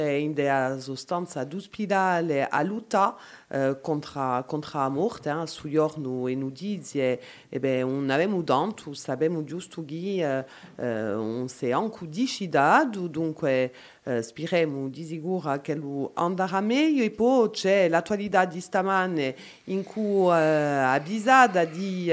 in der sostanza d'ospedale a luta contra a morte, su giorno e nudizie, e beh, non avevamo tanto, sapevamo giusto che non si anche decidato, dunque speriamo di sicuro che lo andrà meglio, e poi c'è l'attualità di stamane in cui avvisata di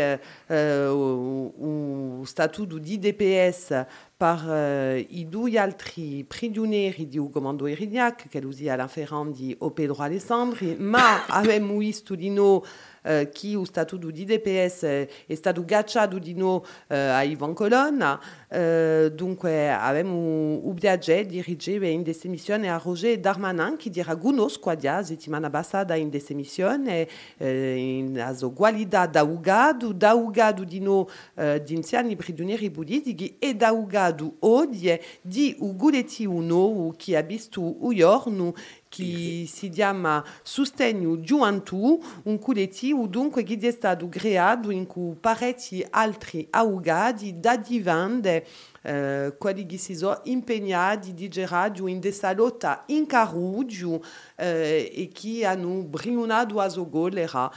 statuto di DPS per i due altri prigionieri di comando Erignac, che usi all'inferno di Pedro Alessandri, ma abbiamo visto di noi che lo statuto di DPS è stato gacciato di noi a Ivan Colonna, dunque abbiamo il piacere di ricevere in questa missione a Roger Darmanin, che dirà conosco la settimana passata in questa missione in qualità d'augado di noi di anziani prigionieri politici e d'augado oggi di Uguletti Uno, che ha visto un giorno che si chiama Sostegno Gioventù, un collettivo dunque che è stato creato in cui parecchi altri augadi da divande quelli che si sono impegnati di radio in questa lotta in Carugio e che hanno brinato a sogolera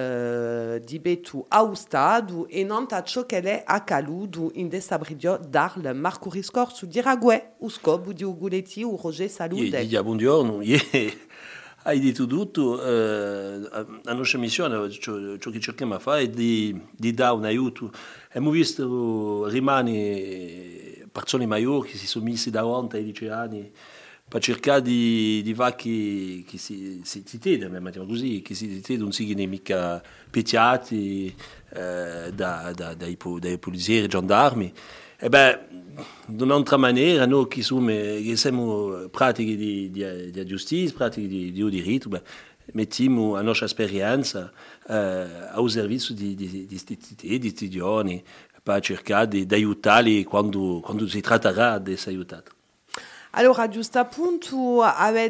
di Betu a Stato e non a ciò che è accaduto in questa brigio d'Arle. Marco Riscorso di Raguè, o scopo di Uguletti o Roger Salute. Buongiorno. Hai detto tutto, la nostra missione, ciò che cerchiamo di fare è di dare un aiuto. Abbiamo visto rimane persone maggiori che si sono messi davanti ai 10 anni per cercare di fare che si mettiamo così, che si non siano mica picchiati dai poliziotti e gendarmi. E beh, in un'altra maniera, noi che siamo pratiche di giustizia, pratiche di diritto, beh, mettiamo la nostra esperienza al servizio di questi giovani per cercare di aiutarli quando si tratterà di essere aiutati. Allora, giusto appunto,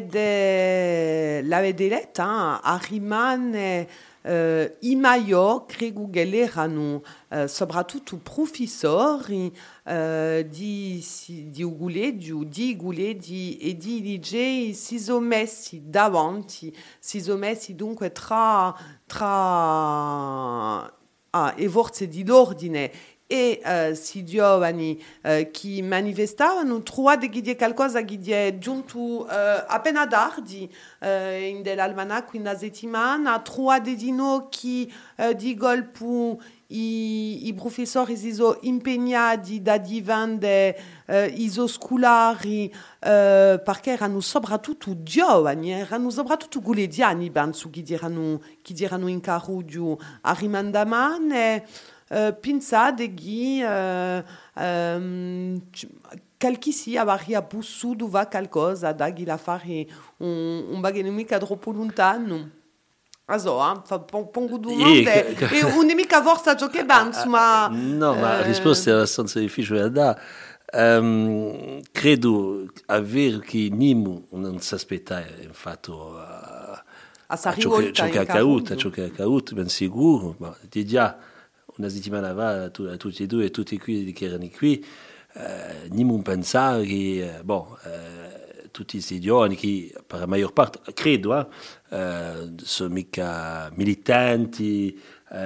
l'avete letto, rimane i maggiori, credo che erano soprattutto professori di Uguleggio, di Uguleggi e di Ligei si sono messi davanti, si sono messi dunque tra le forze dell'ordine e si giovani che manifestavano, trovate che c'è qualcosa che è giunto appena tardi in dell'almanacco in una settimana, trovate di noi che di colpo i professori si sono impegnati da diventare i scolari perché erano soprattutto giovani, erano soprattutto guleggiani, penso, che erano in Carugio a rimandamane. Pensate che qualche sia avrebbe potuto fare qualcosa da che la fare un bagno mica troppo lontano. Pongo domande e non è mica forza ciò che penso, ma... No, ma la risposta è abbastanza difficile da dare. Credo avere che Nimo non si aspettava infatti ciò che è accaduto, ben sicuro, ma di già una settimana fa a tutti e due e tutti qui che erano qui non pensare che tutti questi giovani che per la maggior parte credo sono mica militanti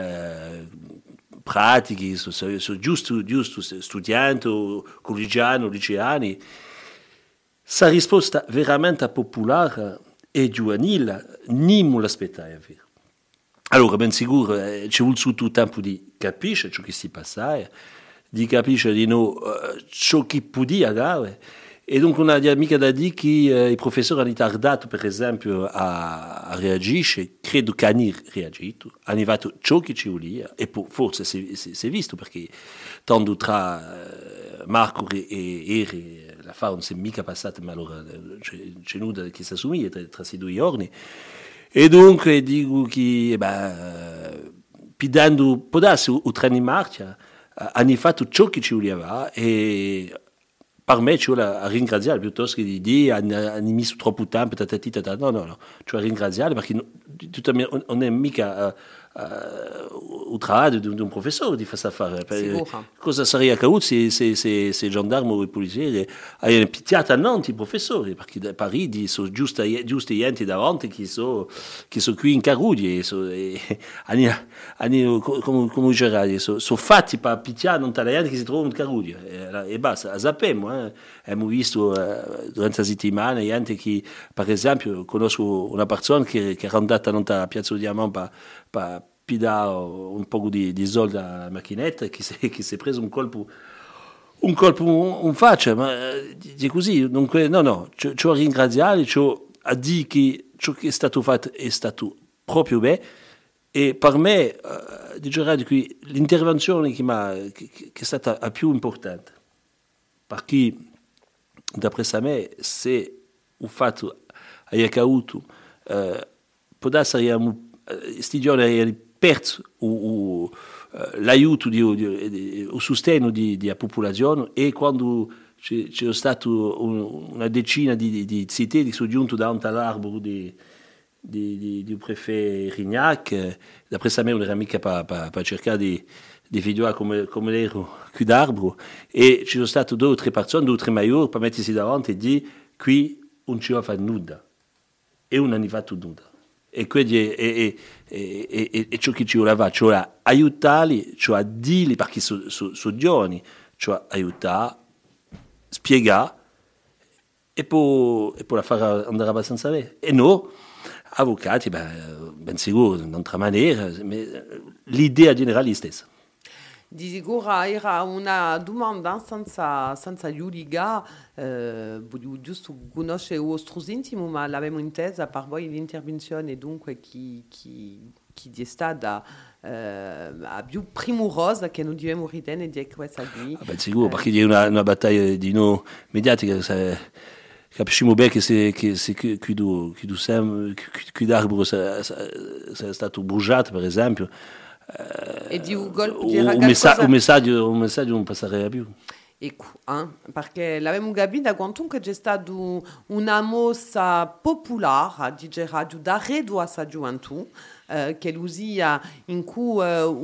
pratichi, sono giusto studenti o collegiani o liceani. Questa risposta veramente popolare e giovanile non l'aspettava. Allora, ben sicuro, ci vuole tutto il tempo di capire ciò che si passa, di capire di noi ciò che poteva dare. E dunque non ha mica da dire che i professori hanno tardato, per esempio, a reagire. Credo che hanno reagito, hanno fatto ciò che ci voleva, e forse si è visto, perché tanto tra Marco e Eri la fa non si è mica passata, ma allora c'è nulla che si assomiglia tra questi 2 giorni. E dunque dico che, pidando può darsi il treno in marcia, hanno fatto ciò che ci voleva, e per me ci vuole ringraziare piuttosto che di dire hanno messo troppo tempo, no, ci vuole ringraziare, perché non è mica il lavoro di un professore di questa affare. Cosa sarebbe accaduto se i gendarmi o i poliziotti avevano picchiato a Nantes i professori, perché da Parigi sono giusti gente davanti che sono qui in Caruglie, come dicerai, sono fatti per picchiare non tale gente che si trovano in Caruglie, e basta. Sappiamo, abbiamo visto durante la settimana gente che, per esempio, conosco una persona che è andata a Piazza Diamant per pidare un po' di soldi alla macchinetta, che si è preso un colpo in faccia, ma è così. Dunque, no, ci ho ringraziato, ci ho detto che ciò che è stato fatto è stato proprio bene, e per me direi che l'intervenzione che è stata la più importante, perché d'après me, se il fatto è accaduto, può essere questi giorni è perso l'aiuto, il sostegno della popolazione, e quando c'è stato una decina di cittadini che sono giunti davanti all'albero di prefetto Rignac, d'après me non era mica per cercare di vedere come era quell'albero, e ci sono state 2 o 3 persone, 2 o 3 maggiori, per mettersi davanti e dire qui non ci va a fare nulla, e non hanno fatto nulla. E quindi è ciò che ci voleva, cioè aiutarli, cioè dirli, perché sono giovani, cioè aiutare, spiegare, e poi la fare andare abbastanza bene. E noi, avvocati, ben sicuro, in un'altra maniera, l'idea generale è la stessa. Di sicuro era una domanda senza giudica, voglio giusto conoscere il vostro intimo, ma l'abbiamo intesa per voi l'intervenzione, dunque chi è stata più primorosa che non dobbiamo ritenere di questa qui. Ben sicuro, perché è una battaglia di noi mediatica, capisciamo bene che quell'albero è stato bruciato, per esempio. E di Google un messaggio non passerebbe più. Ecco, perché l'abbiamo capito quanto c'è stata una mossa popolare di radio da redo a sa gioventù, che l'usia in cui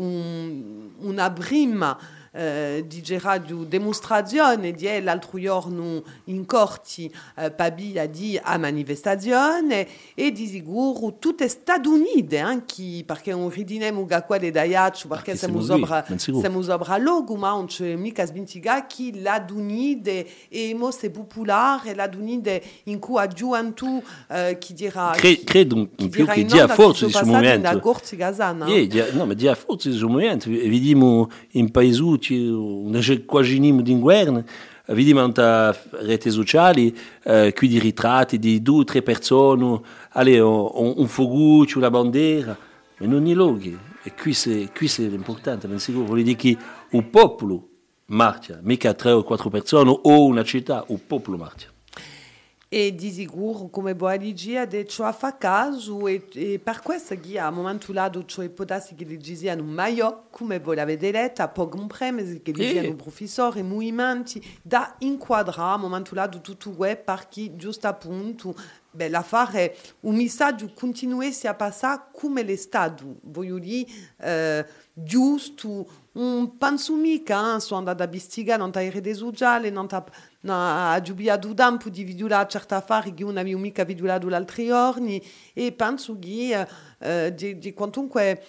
una prima di radio dimostrazione di l'altro giorno in corti pabia di a manifestazione, e di sicuro tutte Stati Uniti, anche perché non ridiniamo che quelle da Iaccio, perché siamo sopra logo, ma non c'è mica sbintiga che la Unite è mosse popolare, la Unite in cui a gioventù chi dirà credo in più che dia forza di questo momento. No, ma dia forza di questo momento. Vediamo in paesi un quasi d'inverno, vediamo in reti sociali qui di ritratti di 2 o 3 persone, un foguccio, una bandiera, ma non i luoghi. E qui è l'importante, ben sicuro. Vuol dire che il popolo marcia, mica 3 o 4 persone o una città, il popolo marcia. E di sicuro, come vuoi dire, di ciò fa caso, e per questo che a un momento lato cioè può darsi che dicano meglio, come voi l'avete detto, può comprendere che dicano professori, movimenti, da inquadrare a un momento lato tutto questo, perché giusto appunto, l'affare, un messaggio continuesse a passare come l'è stato, voglio dire, giusto. Non penso mica, sono andata a investigare non le reti sociali, non ha giubiato tempo di vedere certe affari che non avevo mica visto l'altro giorni, e penso che di quantunque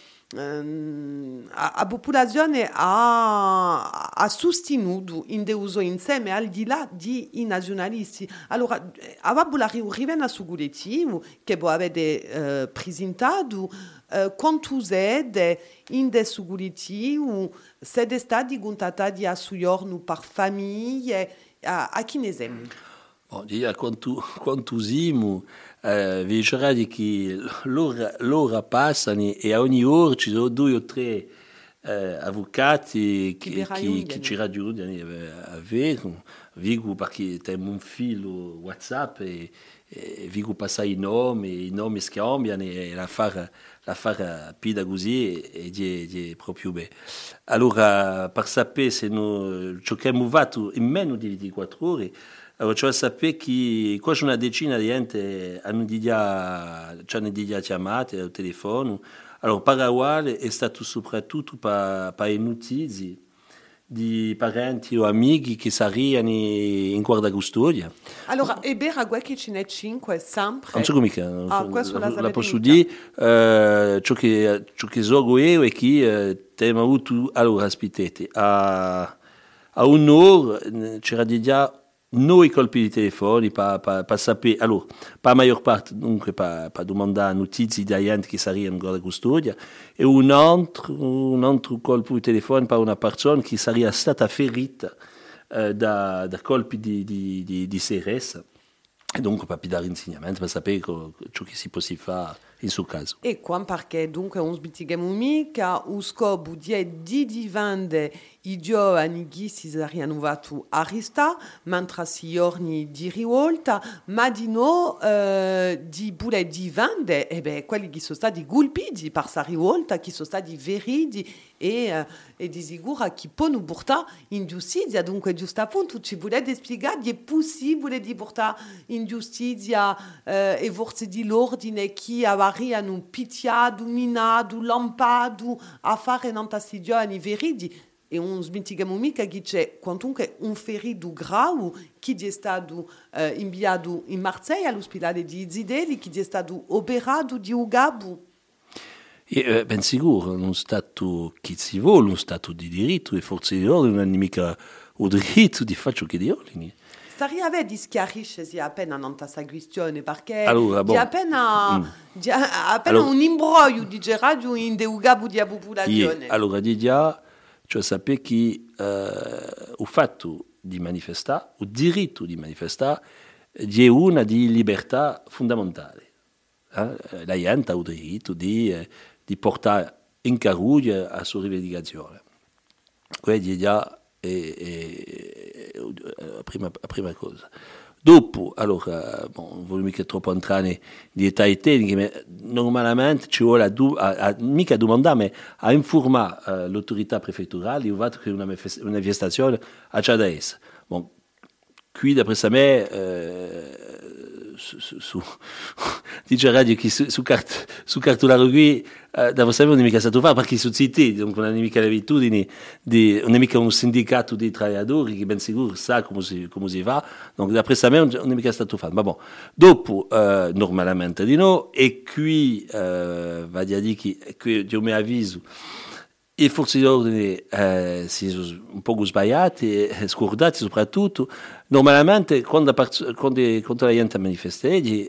la popolazione ha sostenuto in uso insieme al di là di nazionalisti. Allora, avevo la riunione su collettivo che voi avete presentato, quanto siete in questo collettivo, siete stati contattati a suo giorno per famiglie, a chi ne siamo? Quanto siamo, vi dicerai che l'ora passano, e a ogni ora ci sono 2 o 3 avvocati che ci raggiungono a Vigo, perché abbiamo un filo WhatsApp, e Vigo passa i nomi scambiano, e l'affare pida così, è proprio bene. Allora, per sapere se ciò che abbiamo fatto in meno di 24 ore, allora, cioè sapere che quasi una decina di gente ci hanno già chiamate al telefono, Allora, Paraguay è stato soprattutto per i notizie di parenti o amici che sarebbero in guarda custodia. Allora, e Beragua che ce n'è 5 sempre? Non so come che questo la posso dire, ciò che so io è che abbiamo avuto allora ospitati a un'ora c'era già noi colpi di telefono per sapere, allora, per la maggior parte dunque per domandare notizie di gente che sarebbero in guarda custodia e un altro colpo di telefono per una persona che sarebbe stata ferita da colpi di CRS. E dunque per dare insegnamento, per sapere ciò che si può fare in suo caso. E qua perché dunque non sbitighiamo mica, lo scopo di diventare i giovani che si saranno fatti arrestare, mentre si giorni di rivolta, ma di no di pure diventare quelli che sono stati colpiti per questa rivolta, che sono stati feriti e di sicuro che possono portare in giustizia. Dunque, giusto appunto, ci volete spiegare che è possibile di portare in giustizia e forze di l'ordine che avranno picchiato, minato, lampato a fare in questi giovani feriti. E non smentighiamo mica che c'è quantunque un ferito grave che è stato inviato in Marseille all'ospedale di Zideli, che è stato operato di Ugabo. Ben sicuro, uno Stato che si vuole, uno Stato di diritto, e forse di ordine non hanno mica il diritto di fare ciò che di ordine. Staria di schiarisce appena non questa questione, perché allora, di appena allora, un imbroglio di radio in de Ugabo di popolazione. Allora, di già, cioè sapere che il fatto di manifestare, il diritto di manifestare, è una di libertà fondamentale. La gente ha il diritto di portare in caruglia la sua rivendicazione. Quindi già è la prima cosa. Dopo, allora, non voglio mica troppo entrare in dettagli tecnici, ma normalmente ci vuole mica domandare, ma a informare l'autorità prefetturale di fatto che una manifestazione a c'è da essere. Bon, qui, d'après me, dice radio che su cartolaro qui da sapere non è mica stato fatto perché sono zitti, donc non è mica l'abitudine non è mica un sindacato di lavoratori che ben sicuro sa come si fa, donc d'après me non è mica stato fatto, ma bon, dopo normalmente di no, e qui va a dire che io mi avviso e forse gli ordini si sono un po' sbagliati e scordati soprattutto. Normalmente quando la gente manifesta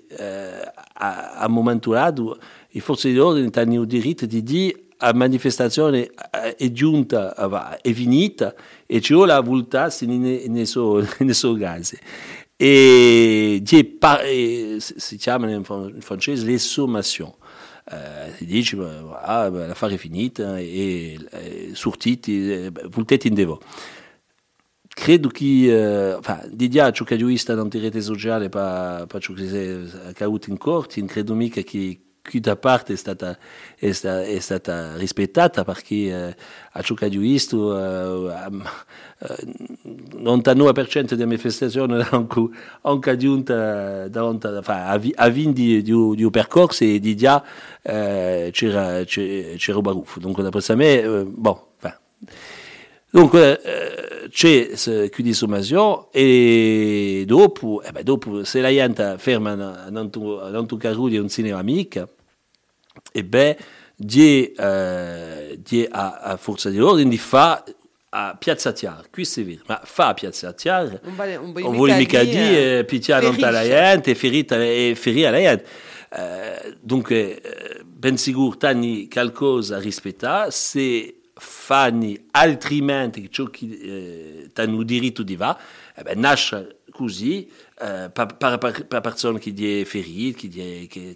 a un momento dato i forze di ordine hanno il diritto di dire la manifestazione è giunta, è finita e ci vuole voltarsi nei suoi casi. E si chiama in francese les sommations. Si dice l'affare è finita e sortiti voltati in devo. Credo che di già ciò che ho visto in rete sociale per ciò che è accaduto in corte, credo mica che da parte è stata rispettata perché a ciò che ho visto il 99% delle manifestazioni anche giunta a vindi di un percorso e di già c'era un baruffo. Dunque, da me, dunque c'è qui di sommazione e dopo se la gente ferma non tu carro un cinema amica e a forza di ordine di fa a Piazza Chiara, qui si vede, ma fa a Piazza Chiara non vuole mica dire picchiare non la gente, ferire la gente. Dunque ben sicuro tanni qualcosa a rispettare se fanno altrimenti ciò che hanno diritto di va, nasce così per persone che è ferite, che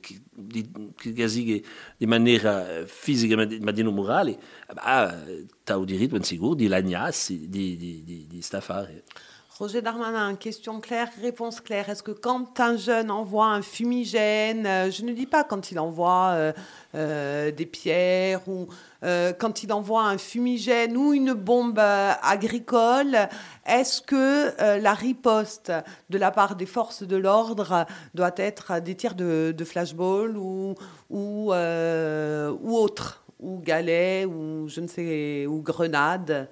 di maniera fisica ma di non morale, ha il diritto ben sicuro di lagnarsi di sta fare. Roger Darmanin, question claire, réponse claire. Est-ce que quand un jeune envoie un fumigène, je ne dis pas quand il envoie des pierres ou quand il envoie un fumigène ou une bombe agricole, est-ce que la riposte de la part des forces de l'ordre doit être des tirs de flashball ou autre, ou galets, ou je ne sais, ou grenades?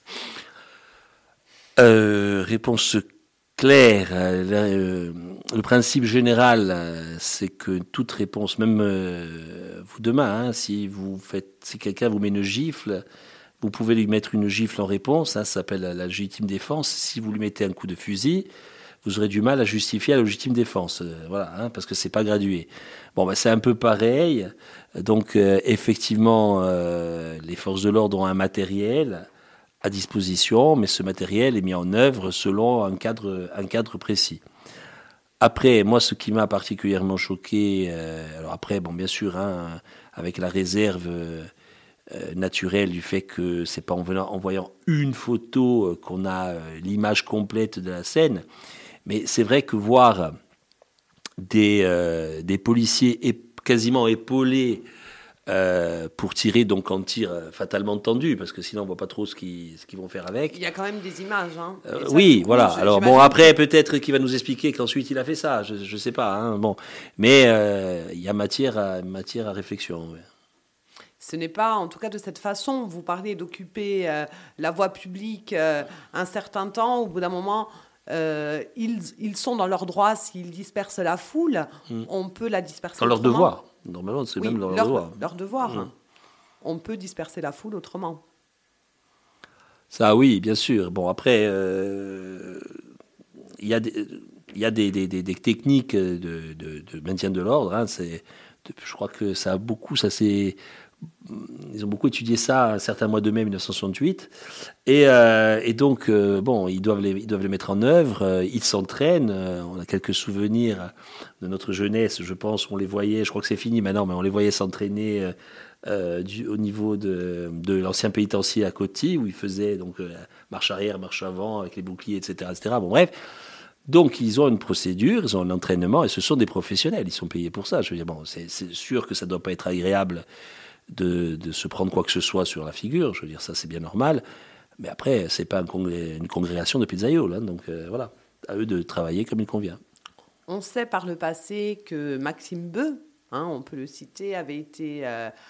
Réponse claire. Le principe général, c'est que toute réponse, même vous demain, si quelqu'un vous met une gifle, vous pouvez lui mettre une gifle en réponse. Ça s'appelle la légitime défense. Si vous lui mettez un coup de fusil, vous aurez du mal à justifier la légitime défense. Voilà, parce que c'est pas gradué. Bon, c'est un peu pareil. Donc, effectivement, les forces de l'ordre ont un matériel à disposition, mais ce matériel est mis en œuvre selon un cadre précis. Après, moi, ce qui m'a particulièrement choqué, alors après, bien sûr, avec la réserve naturelle du fait que c'est pas en voyant une photo qu'on a l'image complète de la scène, mais c'est vrai que voir des policiers quasiment épaulés pour tirer donc en tir fatalement tendu, parce que sinon on voit pas trop ce qu'ils vont faire avec. Il y a quand même des images. Oui, voilà. Alors après peut-être qu'il va nous expliquer qu'ensuite il a fait ça. Je sais pas. Mais il y a matière à réflexion. Ouais. Ce n'est pas, en tout cas de cette façon, vous parlez d'occuper la voie publique un certain temps. Au bout d'un moment, ils sont dans leur droit s'ils dispersent la foule. On peut la disperser dans leur devoir. Normalement, c'est même leur devoir. Leur devoir. On peut disperser la foule autrement. Ça, oui, bien sûr. Bon, après, il y a des techniques de maintien de l'ordre. Je crois que ils ont beaucoup étudié ça un certain mois de mai 1968. Et donc, ils doivent les mettre en œuvre. Ils s'entraînent. On a quelques souvenirs de notre jeunesse, je pense. On les voyait, je crois que c'est fini maintenant, mais on les voyait s'entraîner au niveau de l'ancien pénitencier à Coty, où ils faisaient donc marche arrière, marche avant, avec les boucliers, etc. Bon, bref. Donc, ils ont une procédure, ils ont un entraînement, et ce sont des professionnels. Ils sont payés pour ça. Je veux dire, c'est sûr que ça ne doit pas être agréable de se prendre quoi que ce soit sur la figure. Je veux dire, ça, c'est bien normal. Mais après, c'est pas une congrégation de pizzaïoles. Donc, voilà. À eux de travailler comme il convient. On sait par le passé que Maxime Beu, on peut le citer, avait été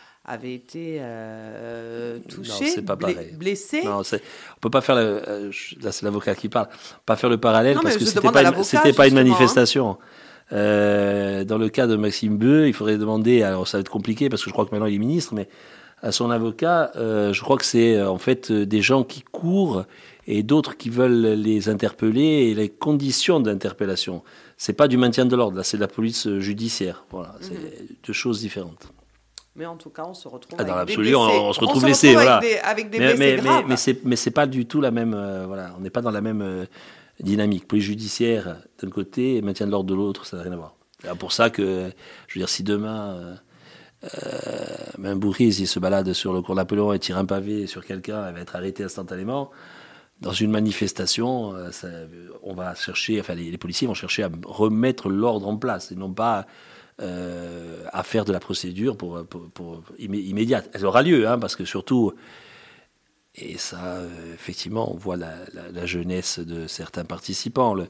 touché, non, c'est pas pareil. Blessé. Non, on peut pas faire là, c'est l'avocat qui parle. Pas faire le parallèle non, parce que c'était pas une manifestation. Dans le cas de Maxime Beu, il faudrait demander. Alors ça va être compliqué parce que je crois que maintenant il est ministre, mais à son avocat, je crois que c'est en fait des gens qui courent et d'autres qui veulent les interpeller et les conditions d'interpellation. C'est pas du maintien de l'ordre. Là, c'est de la police judiciaire. Voilà, c'est deux choses différentes. Mais en tout cas, on se retrouve dans avec des blessés. On se retrouve blessés, voilà. Avec des blessés graves. Mais c'est pas du tout la même. Voilà, on n'est pas dans la même dynamique. Police judiciaire d'un côté et maintien de l'ordre de l'autre, ça n'a rien à voir. C'est pour ça que, je veux dire, si demain un bourriz il se balade sur le cours Napoléon et tire un pavé sur quelqu'un, elle va être arrêtée instantanément. Dans une manifestation, on va chercher, enfin les policiers vont chercher à remettre l'ordre en place et non pas à faire de la procédure pour immédiate. Elle aura lieu, parce que surtout, et ça, effectivement, on voit la jeunesse de certains participants, le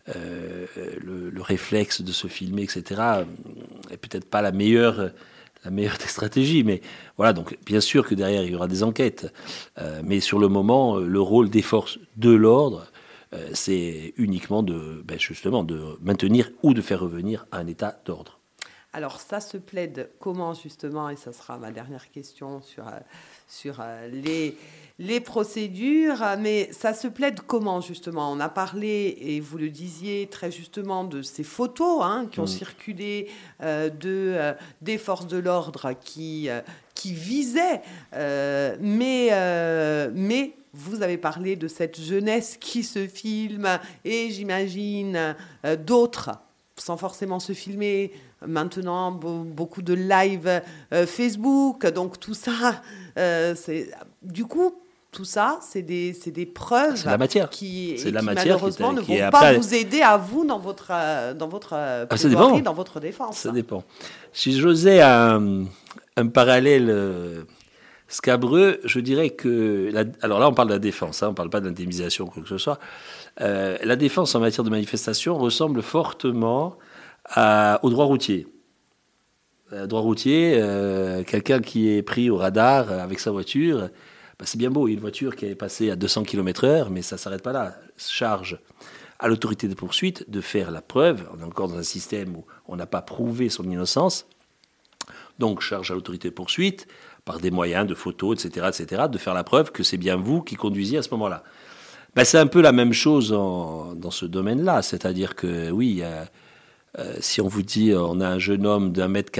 réflexe de se filmer, etc., est peut-être pas la meilleure des stratégies, mais voilà, donc bien sûr que derrière il y aura des enquêtes, mais sur le moment, le rôle des forces de l'ordre, c'est uniquement justement de maintenir ou de faire revenir un état d'ordre. Alors ça se plaide comment justement, et ça sera ma dernière question sur les procédures, mais ça se plaide comment justement? On a parlé, et vous le disiez très justement, de ces photos qui ont circulé des forces de l'ordre qui visaient, mais vous avez parlé de cette jeunesse qui se filme, et j'imagine d'autres, sans forcément se filmer, maintenant beaucoup de live Facebook, donc tout ça, tout ça, c'est des preuves c'est la matière. qui C'est la matière malheureusement ne qui est vont après- pas vous aider à vous dans votre ça plaidoirie, dépend. dans votre défense. Ça dépend. Si j'osais un parallèle scabreux, je dirais que... alors là, on parle de la défense, hein, on ne parle pas d'indemnisation ou quoi que ce soit. La défense en matière de manifestation ressemble fortement au droit routier. Droit routier, quelqu'un qui est pris au radar avec sa voiture, c'est bien beau, une voiture qui est passée à 200 km/h, mais ça ne s'arrête pas là. Charge à l'autorité de poursuite de faire la preuve. On est encore dans un système où on n'a pas prouvé son innocence. Donc, charge à l'autorité de poursuite, par des moyens de photos, etc., de faire la preuve que c'est bien vous qui conduisiez à ce moment-là. C'est un peu la même chose dans ce domaine-là. C'est-à-dire que, oui, si on vous dit on a un jeune homme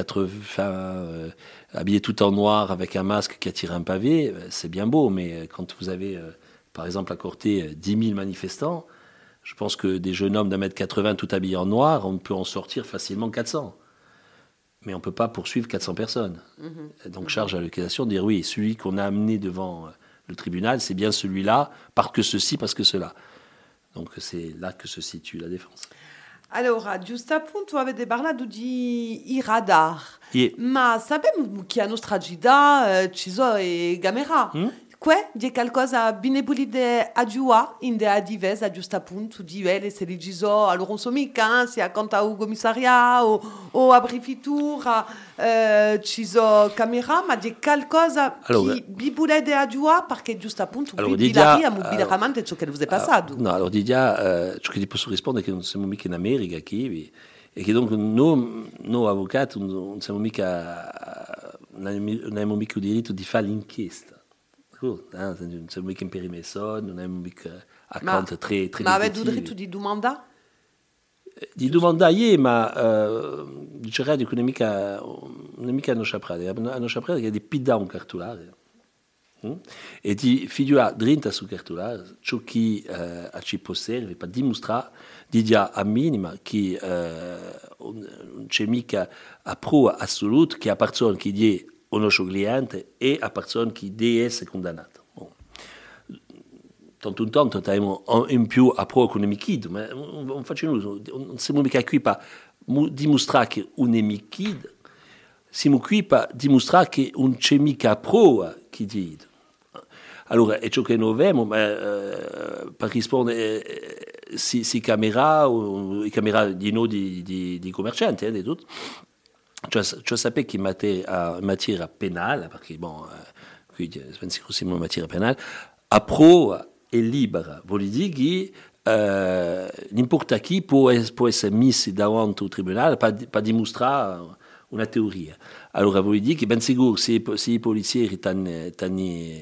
d'1m80 habillé tout en noir avec un masque qui a tiré un pavé, c'est bien beau, mais quand vous avez, par exemple, à Corté 10 000 manifestants, je pense que des jeunes hommes d'1m80 tout habillés en noir, on peut en sortir facilement 400. Mais on ne peut pas poursuivre 400 personnes. Donc charge à l'accusation de dire oui, celui qu'on a amené devant le tribunal, c'est bien celui-là, parce que ceci, parce que cela. Donc c'est là que se situe la défense. Allora, giusto appunto avete parlato di i radar, ma sappiamo che a nostra città ci sono i camera. C'è qualcosa bene pulite a giù in de divesa giusto appunto di vele se li ci sono allora non so mica se accanto al commissariato o a prefettura ci sono camera ma di qualcosa che vi pulite a giù perché giusto appunto vi la via mobilamente ciò che vi è passato. No, allora Didia, ciò che ti posso rispondere è che non siamo mica in America qui e che dunque noi avvocati non siamo mica non abbiamo mica il diritto di fare l'inchiesta. Non siamo mica imperimer soldi, non abbiamo mica account tre ma avete il diritto di domanda? Di domandare, ma dicerai che non è mica hanno sciaprare. Hanno sciaprare che è di pida un cartolare. E di figliuare drinta sul cartolare ciò che ci può servire per dimostrare di dia a minima che non c'è mica a prova assoluta che a persone che di o nostro cliente e a persone che deve essere condannato. Tanto in tanto abbiamo in più a prova con nemichid, ma non facciamo non siamo mica qui per dimostrare che un nemichid, siamo qui per dimostrare che non c'è mica a prova che dice. Allora, è ciò che noi abbiamo, per rispondere, si camera, o i camera di noi di commercianti, di tutto. Cioè sapete che in materia penale, perché qui siamo in materia penale, a prova è libera, vuol dire che n'importa chi può essere messo davanti al tribunale per dimostrare una teoria. Allora vuol dire che ben sicuro se i polizieri hanno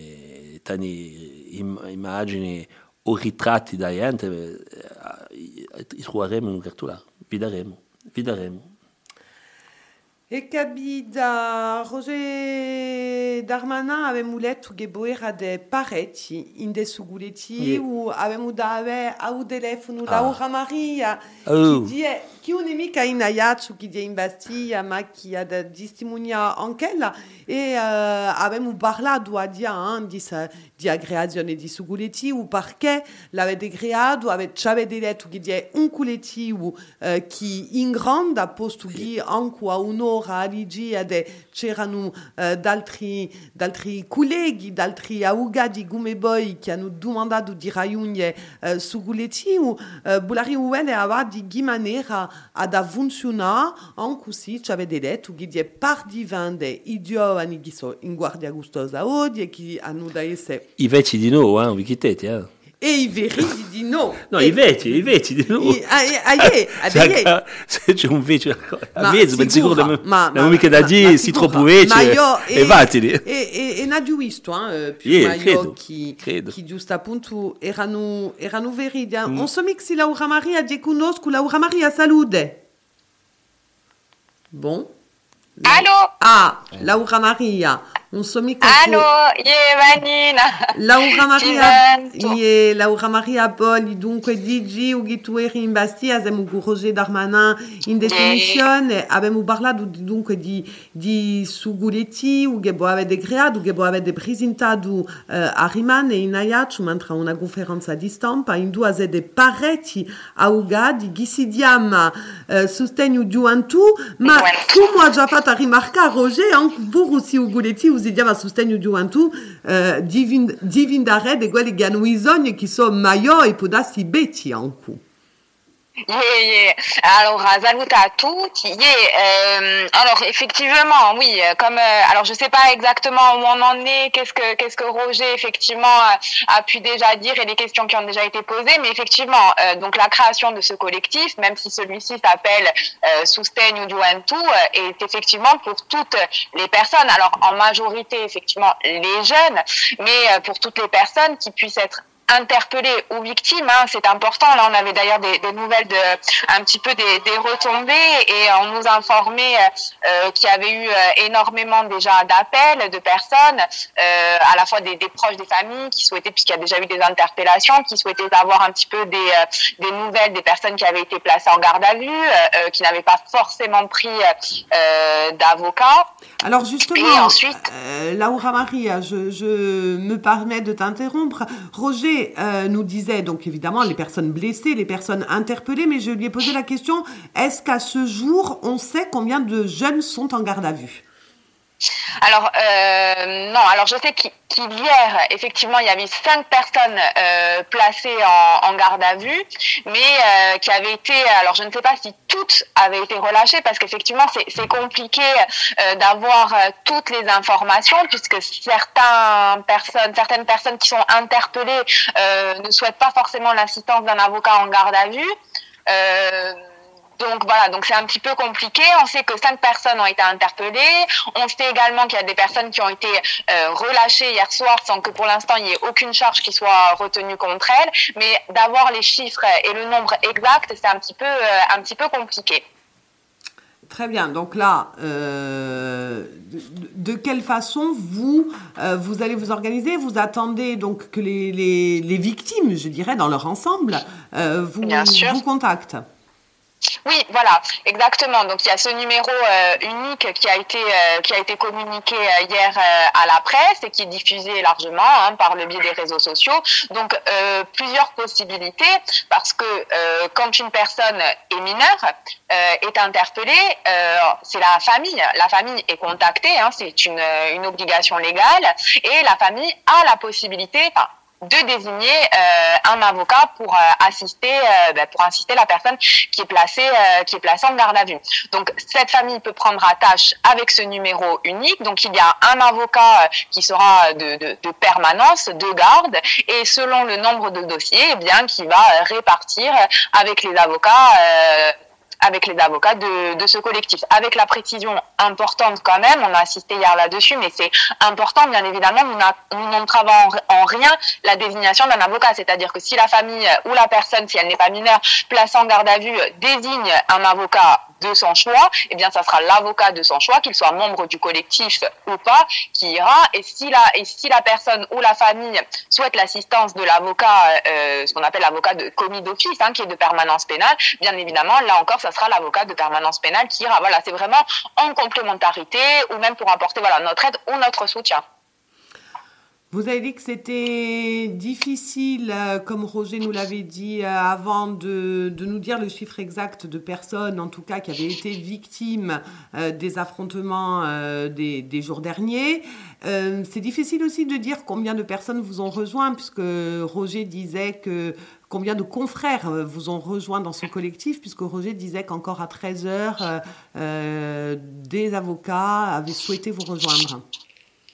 immagini o ritratti da gente, troveremo in un cartolare, vi daremo. E capita Roger Darmanin avevamo letto che era de parecchi in de suguleti o avevamo dato al telefono Laura Maria che non è mica in aiato che è in Bastiglia ma che ha da testimoniare anche ella e avevamo parlato a dia di aggregazione di suguleti o perché l'avete creato avete detto che è un collettivo che in grande posto che anche a un'ora c'erano d'altri colleghi, d'altri avvocati come voi che hanno domandato di raggiungere su collettivo, volare aveva di che maniera ad funzionare, anche se ci avete detto che è par di vende i giovani che sono in guardia gustosa oggi e che hanno da essere... I vecchi di no, vi chiedete, E i veri di no. No, i vecchi di no. Se c'è un vecchio a mezzo, ben sicuro non mica da dire si troppo vecchio e vattene. E non ho visto, che giusto appunto erano veri. Non so mica se Laura Maria ti conosco. Laura Maria, salute. Bon. Allô? Ah, Laura Maria. Allo, Vanina. Laura Maria Poli, dunque Digi, Ugitueri in Bastia, abbiamo Roger Darmanin in definizione, abbiamo parlato dunque di Suguletti, che può avere creato, che può avere presentato a Rimane in Ayaccio, mentre una conferenza di stampa, in due sedi parecchi augadi, che si chiama Sostegno Gioventù, ma come ha già fatto rimarcare Roger, anche voi si Uguletti, si chiama Sostegno Gioventù, diventare di quelli che hanno bisogno, che sono maggiori, può darsi betti anche. Alors, salut à toutes. Alors, effectivement, oui, comme alors je sais pas exactement où on en est, qu'est-ce que Roger effectivement a pu déjà dire et les questions qui ont déjà été posées, mais effectivement, donc la création de ce collectif, même si celui-ci s'appelle Sostegno Gioventù, est effectivement pour toutes les personnes. Alors, en majorité, effectivement, les jeunes, mais pour toutes les personnes qui puissent être interpellés ou victimes, hein, c'est important. Là, on avait d'ailleurs des nouvelles un petit peu des retombées et on nous informait qu'il y avait eu énormément déjà d'appels de personnes, à la fois des proches des familles qui souhaitaient, puisqu'il y a déjà eu des interpellations, qui souhaitaient avoir un petit peu des nouvelles des personnes qui avaient été placées en garde à vue, qui n'avaient pas forcément pris d'avocat. Alors justement, et ensuite, Laura Maria, je me permets de t'interrompre. Roger nous disait donc évidemment les personnes blessées, les personnes interpellées, mais je lui ai posé la question, est-ce qu'à ce jour, on sait combien de jeunes sont en garde à vue ? Alors non, alors je sais qu'hier effectivement il y avait 5 personnes placées en garde à vue, mais qui avaient été, alors je ne sais pas si toutes avaient été relâchées parce qu'effectivement c'est compliqué d'avoir toutes les informations puisque certaines personnes qui sont interpellées ne souhaitent pas forcément l'assistance d'un avocat en garde à vue. Donc voilà, donc c'est un petit peu compliqué. On sait que 5 personnes ont été interpellées. On sait également qu'il y a des personnes qui ont été relâchées hier soir sans que pour l'instant il n'y ait aucune charge qui soit retenue contre elles. Mais d'avoir les chiffres et le nombre exact, c'est un petit peu compliqué. Très bien. Donc là, de quelle façon vous allez vous organiser ? Vous attendez donc que les victimes, je dirais, dans leur ensemble, vous contactent ? Oui, voilà, exactement. Donc il y a ce numéro unique qui a été communiqué hier à la presse et qui est diffusé largement par le biais des réseaux sociaux. Donc plusieurs possibilités parce que quand une personne est mineure, est interpellée, c'est la famille. La famille est contactée, c'est une obligation légale et la famille a la possibilité, de désigner un avocat pour assister la personne qui est placée en garde à vue. Donc cette famille peut prendre attache avec ce numéro unique. Donc il y a un avocat qui sera de permanence, de garde, et selon le nombre de dossiers, eh bien qui va répartir avec les avocats de ce collectif. Avec la précision importante quand même, on a insisté hier là-dessus, mais c'est important, bien évidemment, nous n'entravons en rien la désignation d'un avocat. C'est-à-dire que si la famille ou la personne, si elle n'est pas mineure, placée en garde à vue, désigne un avocat de son choix, eh bien, ça sera l'avocat de son choix, qu'il soit membre du collectif ou pas, qui ira. Et si la personne ou la famille souhaite l'assistance de l'avocat, ce qu'on appelle l'avocat de commis d'office, qui est de permanence pénale, bien évidemment, là encore, ça sera l'avocat de permanence pénale qui ira. Voilà, c'est vraiment en complémentarité ou même pour apporter notre aide ou notre soutien. Vous avez dit que c'était difficile, comme Roger nous l'avait dit avant, de nous dire le chiffre exact de personnes, en tout cas, qui avaient été victimes des affrontements des jours derniers. C'est difficile aussi de dire combien de personnes vous ont rejoint, puisque Roger disait que combien de confrères vous ont rejoint dans ce collectif, puisque Roger disait qu'encore à 13h, des avocats avaient souhaité vous rejoindre.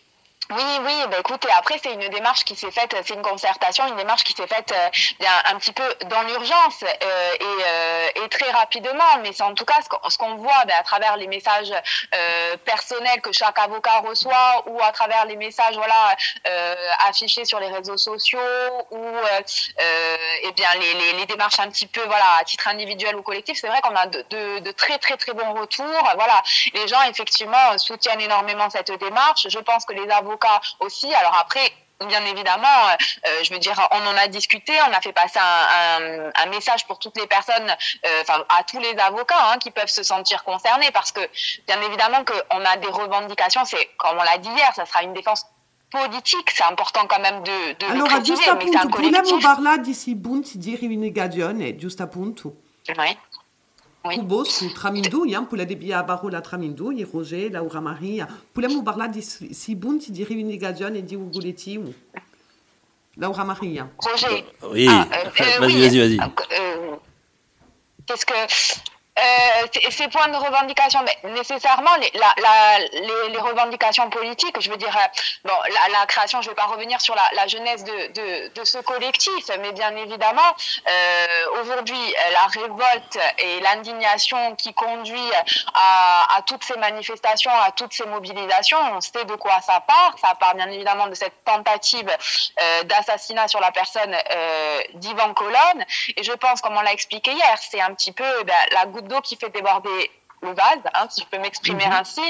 Oui, bah écoutez, après c'est une démarche qui s'est faite, c'est une concertation, une démarche qui s'est faite bien un petit peu dans l'urgence et très rapidement, mais c'est en tout cas ce qu'on voit à travers les messages personnels que chaque avocat reçoit ou à travers les messages affichés sur les réseaux sociaux ou et bien les démarches un petit peu à titre individuel ou collectif. C'est vrai qu'on a de très très très bons retours. Voilà, les gens effectivement soutiennent énormément cette démarche. Je pense que les avocats aussi. Alors après, bien évidemment, je veux dire, on en a discuté, on a fait passer un message pour toutes les personnes, à tous les avocats qui peuvent se sentir concernés, parce que bien évidemment qu'on a des revendications. C'est comme on l'a dit hier, ça sera une défense politique. C'est important quand même de le préciser, mais c'est un collectif. Volevamo parlare di Sibunti di rivendicazione, giusto appunto. Oui. Oui. Su Tramindou, pula de Bia Barola Tramindou, Roger, Laura Maria. Volevamo parlare di Sibunti di rivendicazione di Ugoletti. Laura Maria. Roger. Oui. Vas-y. Qu'est-ce que ces points de revendication, mais nécessairement les revendications politiques, je veux dire, la création, je ne vais pas revenir sur la genèse de ce collectif, mais bien évidemment, aujourd'hui, la révolte et l'indignation qui conduit à toutes ces manifestations, à toutes ces mobilisations, on sait de quoi ça part. Ça part bien évidemment de cette tentative d'assassinat sur la personne d'Ivan Colonne, et je pense, comme on l'a expliqué hier, c'est un petit peu la goutte d'eau qui fait déborder le vase, si je peux m'exprimer ainsi.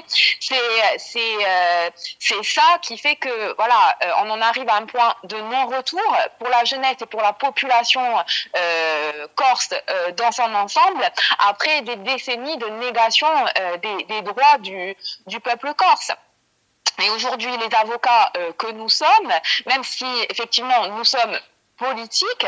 C'est ça qui fait que on en arrive à un point de non-retour pour la jeunesse et pour la population corse dans son ensemble, après des décennies de négation des droits du peuple corse. Et aujourd'hui, les avocats que nous sommes, même si effectivement nous sommes politiques,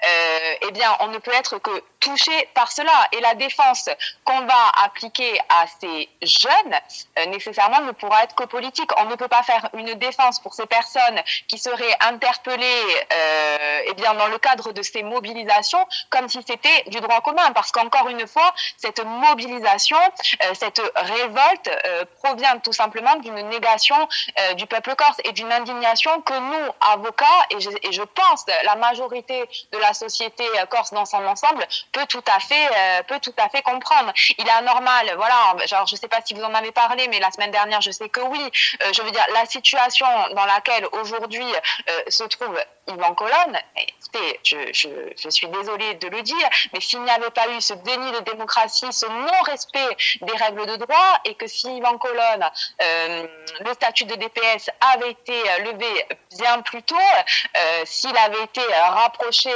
on ne peut être que touché par cela. Et la défense qu'on va appliquer à ces jeunes, nécessairement, ne pourra être que politique. On ne peut pas faire une défense pour ces personnes qui seraient interpellées dans le cadre de ces mobilisations comme si c'était du droit commun. Parce qu'encore une fois, cette mobilisation, cette révolte provient tout simplement d'une négation du peuple corse et d'une indignation que nous, avocats, et je pense la majorité de la société corse dans son ensemble, peut tout à fait comprendre. Il est anormal, genre je sais pas si vous en avez parlé, mais la semaine dernière, je sais que oui. Je veux dire, la situation dans laquelle aujourd'hui se trouve Ivan Colonne, écoutez, je suis désolée de le dire, mais s'il n'y avait pas eu ce déni de démocratie, ce non-respect des règles de droit, et que si Ivan Colonne, le statut de DPS avait été levé bien plus tôt, s'il avait été rapproché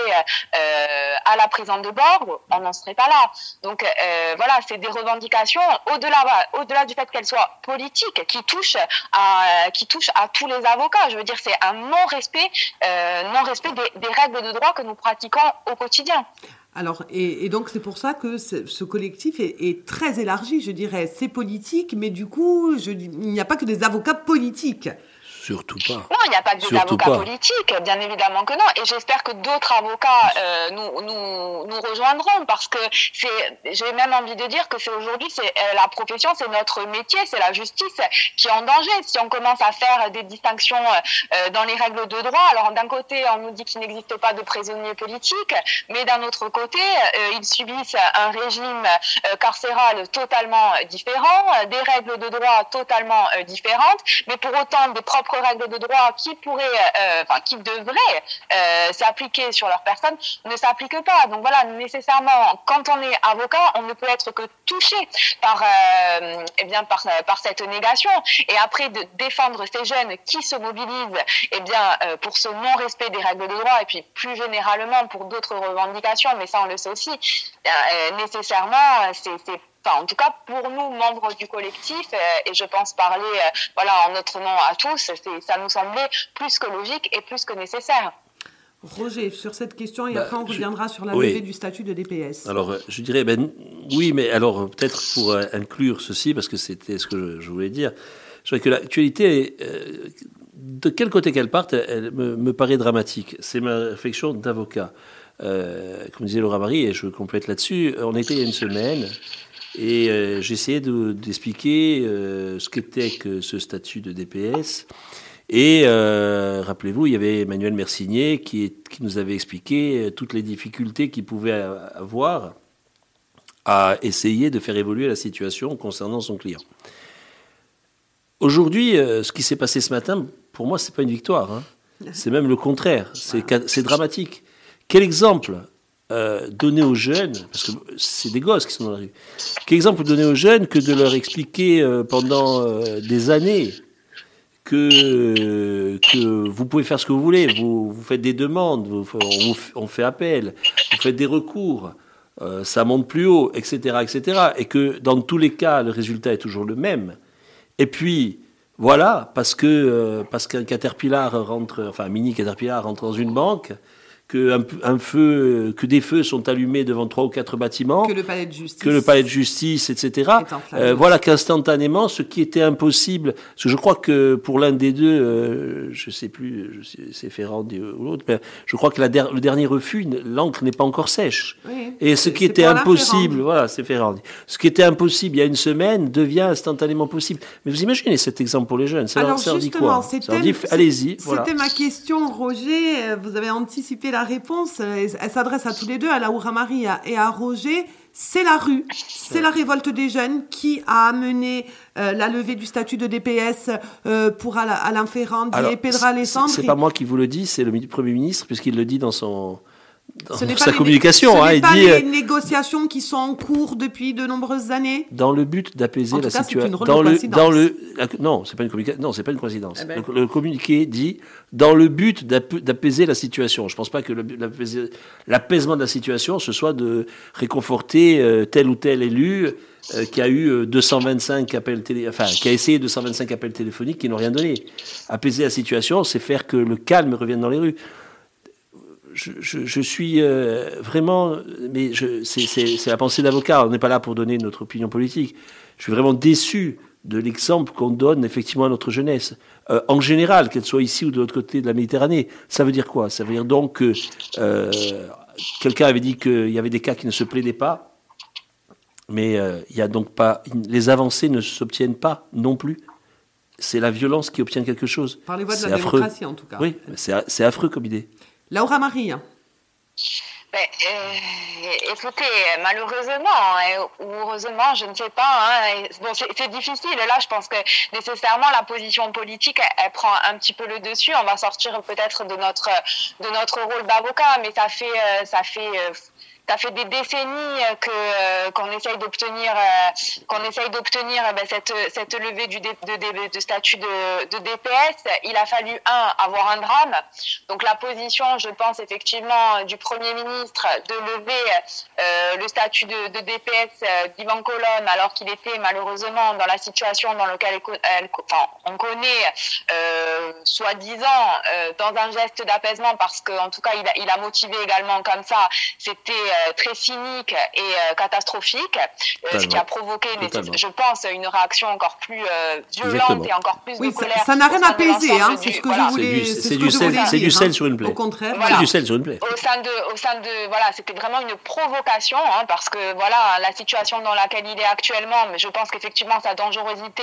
à la prison de Bordeaux, on n'en serait pas là. Donc c'est des revendications au-delà du fait qu'elles soient politiques, qui touchent à tous les avocats. Je veux dire, c'est un non-respect des règles de droit que nous pratiquons au quotidien. Alors, et donc c'est pour ça que ce collectif est très élargi, je dirais. C'est politique, mais du coup, il n'y a pas que des avocats politiques. Surtout pas. Non, il n'y a pas que des avocats politiques, bien évidemment que non. Et j'espère que d'autres avocats nous rejoindront, parce que j'ai même envie de dire que aujourd'hui, la profession, c'est notre métier, c'est la justice qui est en danger. Si on commence à faire des distinctions dans les règles de droit, alors d'un côté, on nous dit qu'il n'existe pas de prisonniers politiques, mais d'un autre côté, ils subissent un régime carcéral totalement différent, des règles de droit totalement différentes, mais pour autant des propres règles de droit qui devraient s'appliquer sur leur personne ne s'appliquent pas. Donc nécessairement, quand on est avocat, on ne peut être que touché par cette négation. Et après, de défendre ces jeunes qui se mobilisent pour ce non-respect des règles de droit, et puis plus généralement pour d'autres revendications, mais ça on le sait aussi, nécessairement, en tout cas, pour nous, membres du collectif, et je pense parler en notre nom à tous, ça nous semblait plus que logique et plus que nécessaire. Roger, sur cette question, et après on reviendra sur la levée du statut de DPS. Alors, je dirais, oui, mais alors peut-être pour inclure ceci, parce que c'était ce que je voulais dire, je dirais que l'actualité, de quel côté qu'elle parte, elle me paraît dramatique. C'est ma réflexion d'avocat. Comme disait Laura Marie, et je complète là-dessus, on était il y a une semaine... Et j'essayais d'expliquer ce qu'était que ce statut de DPS. Et rappelez-vous, il y avait Emmanuel Mercinier qui nous avait expliqué toutes les difficultés qu'il pouvait avoir à essayer de faire évoluer la situation concernant son client. Aujourd'hui, ce qui s'est passé ce matin, pour moi, c'est pas une victoire. Hein. C'est même le contraire. C'est dramatique. Quel exemple donner aux jeunes, parce que c'est des gosses qui sont dans la rue, quel exemple donner aux jeunes que de leur expliquer pendant des années que vous pouvez faire ce que vous voulez, vous faites des demandes, on fait appel, vous faites des recours, ça monte plus haut, etc., etc., et que dans tous les cas, le résultat est toujours le même. Et puis, voilà, parce qu'un Caterpillar un mini Caterpillar rentre dans une banque, que des feux sont allumés devant 3 ou 4 bâtiments, que le palais de justice, etc. Voilà qu'instantanément, ce qui était impossible, parce que je crois que pour l'un des deux, je sais plus, c'est Ferrandi ou l'autre, mais je crois que le dernier refus, l'encre n'est pas encore sèche. Oui, et ce qui était impossible, voilà, c'est Ferrandi. Ce qui était impossible il y a une semaine devient instantanément possible. Mais vous imaginez cet exemple pour les jeunes, ça leur dit quoi? Ça leur dit, allez-y. Voilà. C'était ma question, Roger. Vous avez anticipé la réponse. Elle s'adresse à tous les deux, à Laura Marie et à Roger. C'est la rue, c'est la révolte des jeunes qui a amené la levée du statut de DPS pour Alain Ferrand et Pedro Alessandri. C'est pas moi qui vous le dis, c'est le Premier ministre, puisqu'il le dit dans sa communication. Ce n'est pas dit, les négociations qui sont en cours depuis de nombreuses années. Dans le but d'apaiser la situation. Non, c'est pas une communication. Non, c'est pas une coïncidence. Le communiqué dit dans le but d'apaiser la situation. Je pense pas que l'apaisement de la situation ce soit de réconforter tel ou tel élu qui a eu 225 appels qui a essayé 225 appels téléphoniques qui n'ont rien donné. Apaiser la situation, c'est faire que le calme revienne dans les rues. Je suis vraiment, mais c'est la pensée d'avocat. On n'est pas là pour donner notre opinion politique. Je suis vraiment déçu de l'exemple qu'on donne effectivement à notre jeunesse, en général, qu'elle soit ici ou de l'autre côté de la Méditerranée. Ça veut dire quoi? Ça veut dire donc que quelqu'un avait dit qu'il y avait des cas qui ne se plaidaient pas, mais il y a donc pas, les avancées ne s'obtiennent pas non plus. C'est la violence qui obtient quelque chose. Par les voies de la démocratie, en tout cas. Oui, c'est affreux comme idée. Laura Marie. Écoutez, malheureusement ou heureusement, je ne sais pas. Bon, c'est difficile. Là, je pense que nécessairement la position politique, elle prend un petit peu le dessus. On va sortir peut-être de notre rôle d'avocat, mais ça fait des décennies qu'on essaye d'obtenir cette levée de statut de DPS. Il a fallu avoir un drame. Donc la position, je pense effectivement du Premier ministre de lever le statut de DPS d'Yvan Colonne, alors qu'il était malheureusement dans la situation dans laquelle on connaît soi-disant dans un geste d'apaisement, parce qu'en tout cas il a motivé également comme ça. C'était très cynique et catastrophique, ce qui a provoqué, je pense, une réaction encore plus violente et encore plus de colère. Ça n'a rien apaisé, c'est ce que je voulais dire. C'est du sel sur une plaie. Au contraire, voilà. C'est du sel sur une plaie. Au sein de voilà, c'était vraiment une provocation, parce que voilà, la situation dans laquelle il est actuellement, mais je pense qu'effectivement sa dangerosité,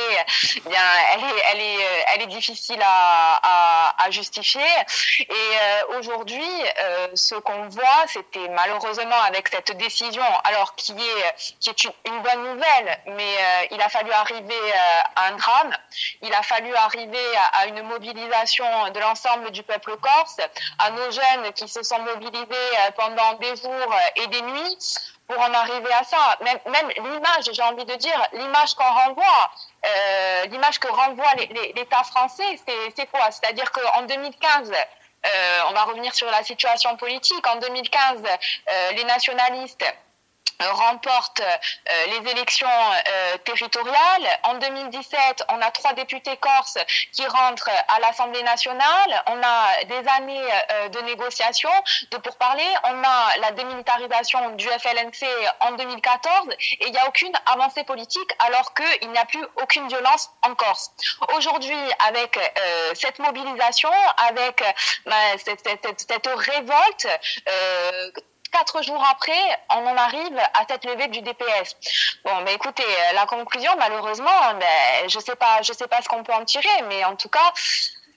elle est difficile à justifier. Et aujourd'hui, ce qu'on voit, c'était malheureusement avec cette décision, alors qui est une bonne nouvelle, mais il a fallu arriver à un drame. Il a fallu arriver à une mobilisation de l'ensemble du peuple corse, à nos jeunes qui se sont mobilisés pendant des jours et des nuits pour en arriver à ça. Même l'image, j'ai envie de dire, l'image qu'on renvoie, l'image que renvoie l'État français, c'est quoi? C'est-à-dire qu'en 2015, on va revenir sur la situation politique. En 2015, les nationalistes remportent les élections territoriales. En 2017, on a 3 députés corses qui rentrent à l'Assemblée nationale. On a des années de négociations, de pourparlers. On a la démilitarisation du FLNC en 2014 et il n'y a aucune avancée politique alors qu'il n'y a plus aucune violence en Corse. Aujourd'hui, avec cette mobilisation, avec cette révolte, 4 jours après, on en arrive à cette levée du DPS. Bon, mais écoutez, la conclusion, malheureusement, je sais pas ce qu'on peut en tirer, mais en tout cas,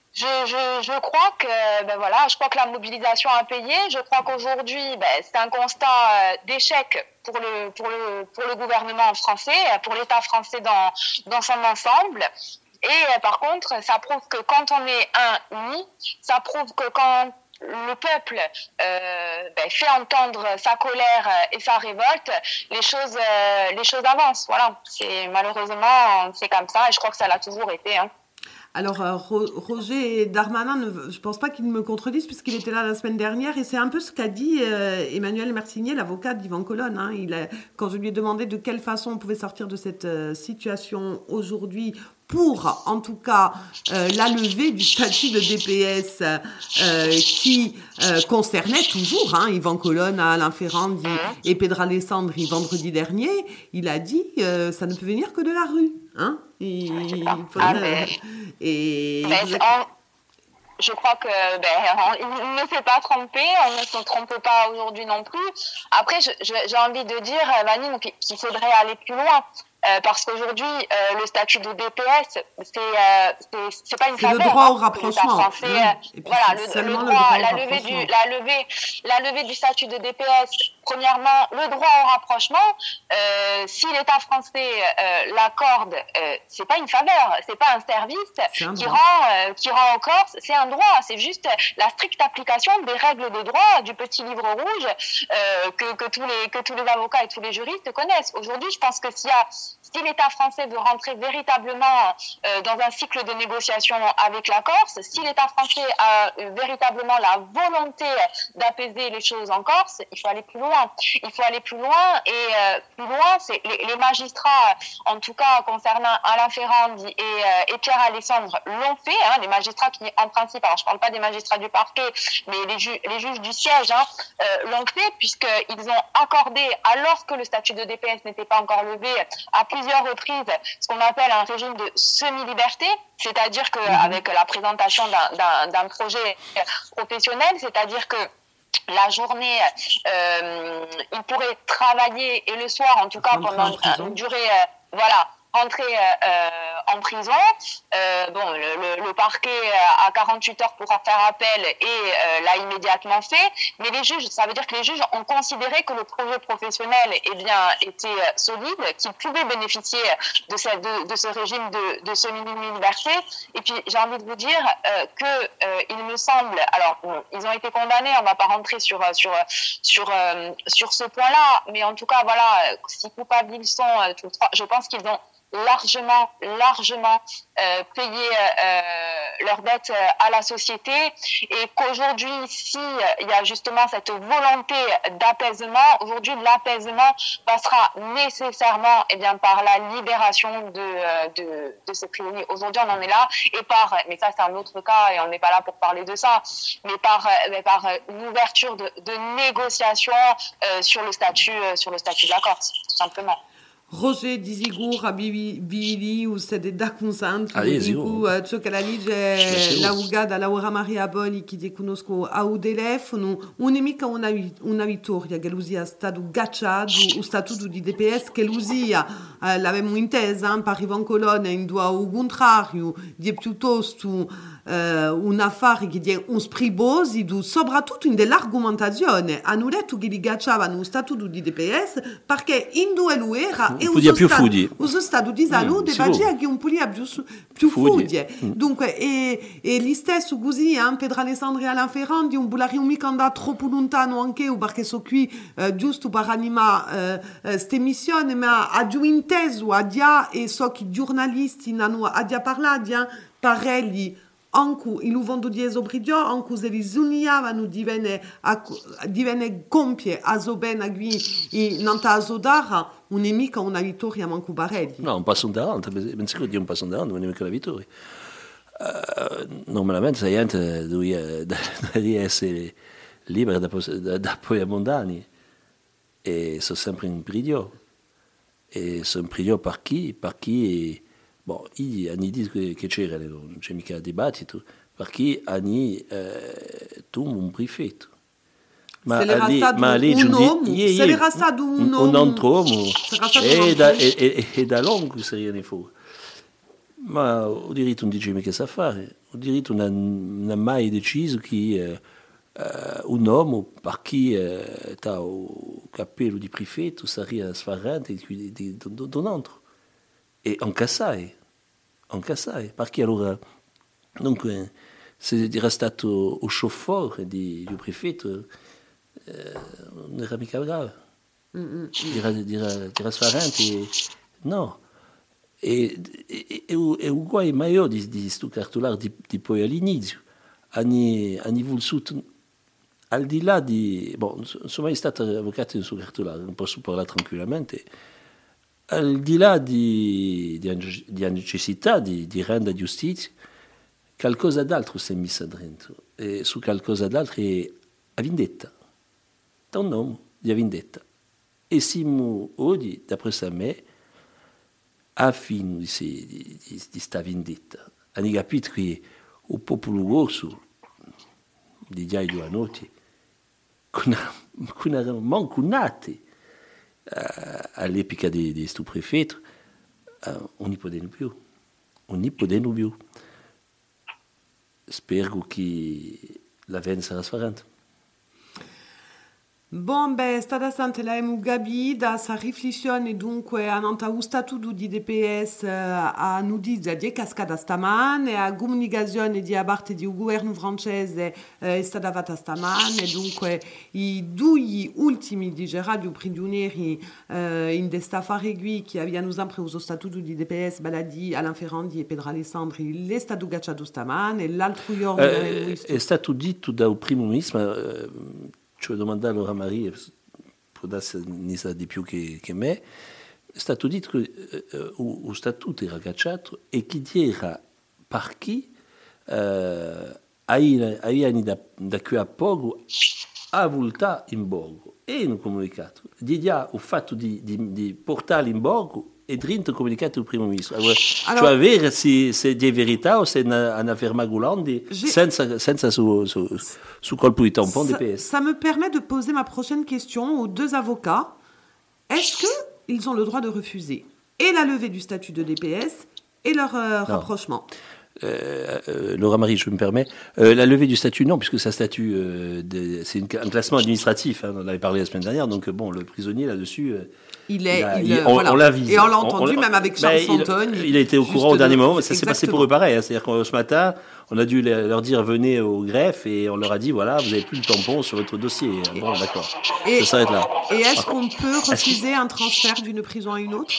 Je crois que je crois que la mobilisation a payé. Je crois qu'aujourd'hui c'est un constat d'échec pour le gouvernement français, pour l'État français dans son ensemble. Et par contre, ça prouve que quand on est uni, ça prouve que quand le peuple fait entendre sa colère et sa révolte, les choses avancent. Voilà, malheureusement c'est comme ça et je crois que ça l'a toujours été. Hein. Alors, Roger Darmanin, je ne pense pas qu'il me contredise puisqu'il était là la semaine dernière et c'est un peu ce qu'a dit Emmanuel Mercinier, l'avocat d'Yvan Colonne. Hein. Quand je lui ai demandé de quelle façon on pouvait sortir de cette situation aujourd'hui pour, en tout cas, la levée du statut de DPS qui concernait toujours Yvan Colonne, Alain Ferrand et Pedro Alessandri vendredi dernier, il a dit ça ne peut venir que de la rue. Hein, je crois que il ne s'est pas trompé, on ne se trompe pas aujourd'hui non plus. Après, j'ai envie de dire, Vanine, qu'il faudrait aller plus loin. Parce qu'aujourd'hui, le statut de DPS, c'est pas une faveur. C'est le droit au rapprochement. La levée du statut de DPS. Premièrement, le droit au rapprochement. Si l'État français l'accorde, c'est pas une faveur, c'est pas un service qui rend aux Corses. C'est un droit. C'est juste la stricte application des règles de droit du petit livre rouge que tous les avocats et tous les juristes connaissent. Aujourd'hui, je pense que si l'État français veut rentrer véritablement dans un cycle de négociation avec la Corse, si l'État français a véritablement la volonté d'apaiser les choses en Corse, il faut aller plus loin. Il faut aller plus loin et plus loin, c'est les magistrats, en tout cas concernant Alain Ferrand et Pierre Alessandre, l'ont fait. Les magistrats qui, en principe, alors je parle pas des magistrats du parquet, mais les juges du siège l'ont fait puisqu'ils ont accordé, alors que le statut de DPS n'était pas encore levé, à plusieurs reprises ce qu'on appelle un régime de semi-liberté, c'est-à-dire qu'avec la présentation d'un projet professionnel, c'est-à-dire que la journée, il pourrait travailler et le soir, en tout cas pendant une durée, rentrer en prison. Le parquet a 48 heures pour faire appel et l'a immédiatement fait. Mais les juges, ça veut dire que les juges ont considéré que le projet professionnel était solide, qu'ils pouvaient bénéficier de ce régime de semi-liberté. Et puis j'ai envie de vous dire il me semble, alors ils ont été condamnés, on ne va pas rentrer sur ce point-là, mais en tout cas si coupables ils sont, je pense qu'ils ont largement payer leurs dettes à la société et qu'aujourd'hui, il y a justement cette volonté d'apaisement, aujourd'hui l'apaisement passera nécessairement par la libération de ces prisonniers. Aujourd'hui, on en est là mais ça c'est un autre cas et on n'est pas là pour parler de ça, mais par l'ouverture de négociations sur le statut de la Corse, tout simplement. Roger Dizigur abili usted da consant ciò che la legge l'augada Laura Maria Boli che conosco au telefono un'emica una vittoria che l'usia stato gacciato o statuto di DPS che l'usia l'avevamo intesa per Yvan Colonne in due au contrario di piuttosto un affare che è un spribosi soprattutto in dell'argomentazione hanno detto che li gacciavano lo statuto di DPS perché in due lo era e uso stato di salute faceva che un polia più fuglie dunque e gli stesso così Pedro Alessandri e Alain Ferrand di un bulari un mica andato troppo lontano anche perché so qui giusto per animare ste missioni ma ha giù inteso a dia e so che i giornalisti hanno a dia parlato parelli anche il vento di esobridio anche se li zuniavano divenne compie a Zoben qui nanta Azodara un'emica una vittoria manco Barelli un passo in avanti ben sicuro di un passo in avanti un'emica la vittoria normalmente la gente deve essere libera da poi a mondani e sono sempre in prigione e sono in prigione per chi hanno detto che c'era, non c'è mica dibattito, perché hanno tu un prefetto. Ma era stato un altro uomo e da lungo sarebbe fuori. Ma o diritto non dice mica sa fare, o diritto non ha mai deciso che un uomo per chi ha il cappello di prefetto sarebbe sfarrante di un altro. E anche sai, perché allora, dunque, se era stato il chauffeur di prefetto, non era mica bravo. Era sfarrante, no. E un guai maggiore di questo cartolare di poi all'inizio hanno voluto al di là di non sono mai stato avvocato in suo cartolare, non posso parlare tranquillamente, al di là di necessità di rendere giustizia, qualcosa d'altro si è messo dentro, e su qualcosa d'altro è la vendetta, da un nome di vendetta, e siamo oggi, d'après me, a fine di questa vendetta. Hanno capito che il popolo rosso di già 2 anni con erano manco nati all'epoca di questo prefetto, non ne potevano più. Spero che la venda sarà sfarrante. Bon, è stata stante la Gabi da sa riflessione dunque ananta o statuto di DPS a nudizia di cascata stamane, a comunicazione di parte del governo francese è stata fatta stamane, dunque i 2 ultimi di radio prigionieri in questa affare qui che abbiano sempre uso statuto di DPS Baladi, Alain Ferrandi e Pedro Alessandri, l'è stato gacciato stamane, l'altro giorno è stato detto dal primo ministro. Ci ho domandato a Maria, può darsi ne sa di più che me, è stato detto che lo statuto era cacciato e che era per chi avevano da qui a poco a volta in borgo e un comunicato. Di già il fatto di portarlo in borgo e dentro comunicato il primo ministro. Allora, cioè vedere se è di verità o se è una ferma Goulandi senza su colpo di tampon DPS. Ça me permet de poser ma prochaine question aux 2 avocats. Est-ce qu'ils ont le droit de refuser et la levée du statut de DPS et leur rapprochement? Laura Marie, je me permets. La levée du statut, non, puisque sa statut, c'est un classement administratif. On en avait parlé la semaine dernière. Donc, bon, le prisonnier là-dessus, on l'a visé. Et on l'a entendu, même avec Charles Santon. Il a été au courant au dernier moment. Ça s'est passé pour eux pareil. Hein. C'est-à-dire que ce matin, on a dû leur dire venez au greffe et on leur a dit voilà, vous n'avez plus de tampon sur votre dossier. Bon, d'accord. Ça s'arrête là. Et est-ce qu'on peut refuser un transfert d'une prison à une autre?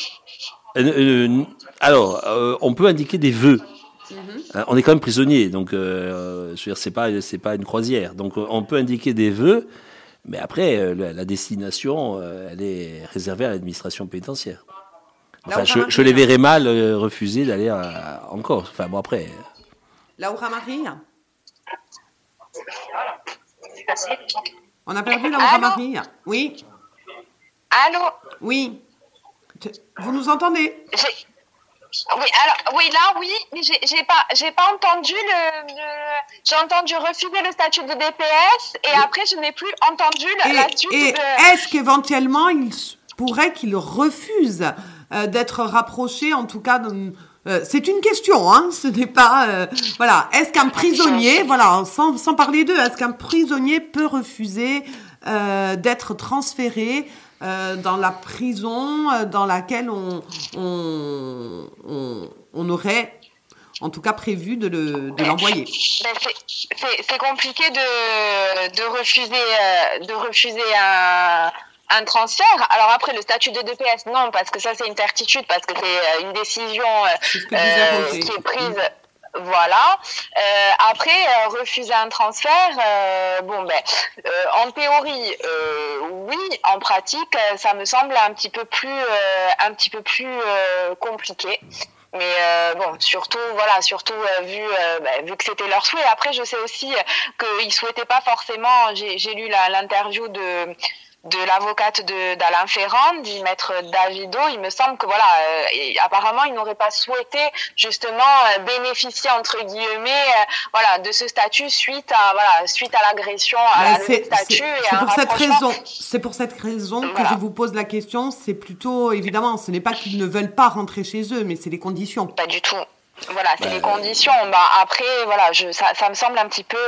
Alors, on peut indiquer des vœux. On est quand même prisonnier, donc je veux dire, c'est pas une croisière. Donc on peut indiquer des vœux, mais après la destination, elle est réservée à l'administration pénitentiaire. Enfin, je les verrais mal refuser d'aller en Corse. Enfin bon après. Laura Marie. On a perdu Laura Marie. Oui. Allô. Oui. Vous nous entendez? Oui, alors oui, mais j'ai pas entendu j'ai entendu refuser le statut de DPS et après je n'ai plus entendu la suite. Et est-ce qu'éventuellement il pourrait qu'il refuse d'être rapproché, en tout cas c'est une question, hein, ce n'est pas voilà. Est-ce qu'un prisonnier, voilà, sans parler d'eux, est-ce qu'un prisonnier peut refuser d'être transféré dans la prison dans laquelle on aurait en tout cas prévu de l'envoyer? C'est compliqué de refuser un transfert. Alors après, le statut de DPS, non, parce que ça c'est une certitude, parce que c'est une décision qui est prise. Voilà. Après, refuser un transfert, en théorie, oui. En pratique, ça me semble un petit peu plus compliqué. Mais surtout vu que c'était leur souhait. Après, je sais aussi qu'ils souhaitaient pas forcément. J'ai lu l'interview de l'avocate d'Alain Ferrand, du maître Davido. Il me semble que apparemment il n'aurait pas souhaité justement bénéficier entre guillemets de ce statut suite à l'agression, à la levée de statut et à un rapprochement. C'est pour cette raison que je vous pose la question. C'est plutôt, évidemment, ce n'est pas qu'ils ne veulent pas rentrer chez eux, mais c'est les conditions. Pas du tout. Voilà, c'est les conditions. Après, voilà, ça me semble un petit peu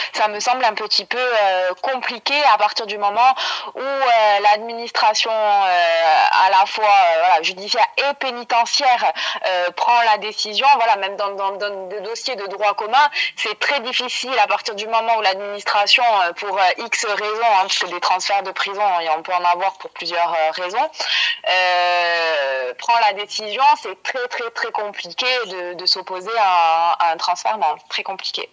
compliqué à partir du moment où l'administration à la fois judiciaire et pénitentiaire prend la décision. Voilà, même dans des dossiers de droit commun, c'est très difficile à partir du moment où l'administration, pour X raisons, parce que des transferts de prison, on peut en avoir pour plusieurs raisons, prend la décision. C'est très très très compliqué de s'opposer à un transfert, très compliqué.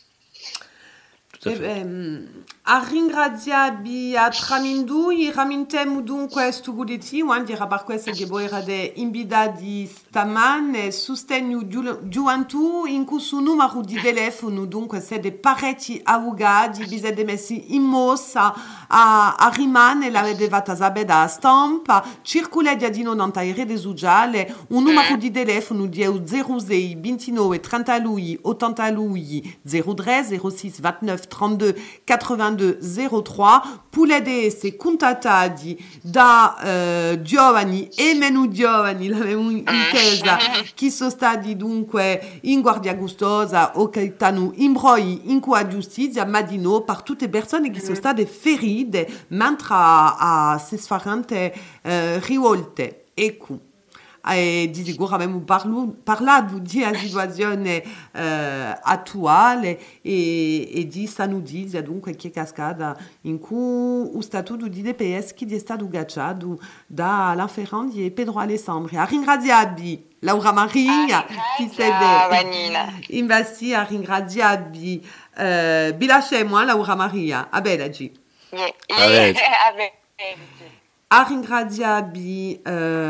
A ringraziarvi a tramindui ramintemo dunque stuguditi andira per questo che voi erate invitati stamane sostegno gioventù in questo numero di telefono dunque siete parecchi avvocati vi siete messi in mossa a rimane l'avete fatta sapere da stampa circolate di non nelle reti sociali un numero di telefono di 06 29 30 lui 80 lui 03 06 29 32 82 03 Pulede se contattati da giovani e meno giovani l'abbiamo intesa che sono stati dunque in guardia gustosa o che stanno in broi in qua giustizia ma di no per tutte le persone che sono state ferite mentre a se sfarante rivolte ecco. Di sicuro abbiamo parlato di una situazione attuale e di sta notizia dunque che è cascata in cui lo statuto di DPS che è stato gacciato dalla Ferrandi e Pedro Alessandri. A ringraziarvi Laura Maria che siete investi a ringraziarvi bilasciamo Laura Maria a Belagi a ringraziarvi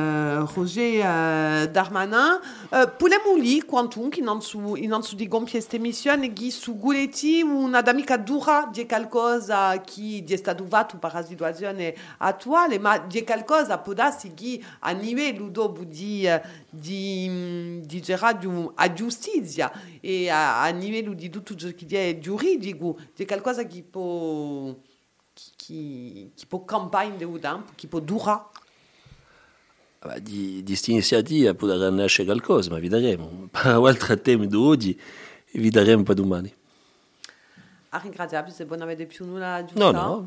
Roger Darmanin. Possiamo lì quantum che non su di compie questa missione che su Guletti una d'amica dura di qualcosa che è stato fatto per la situazione attuale, ma di qualcosa può darsi che a livello dopo di Gerardo a giustizia e a livello di tutto ciò che è giuridico, di qualcosa che può campagne de tempo, che può durare? Di questa iniziativa potrà nascere qualcosa, ma vedremo. Per altro tempo di oggi, vedremo per domani. A ringraziarvi se non avete più nulla da aggiungere. No.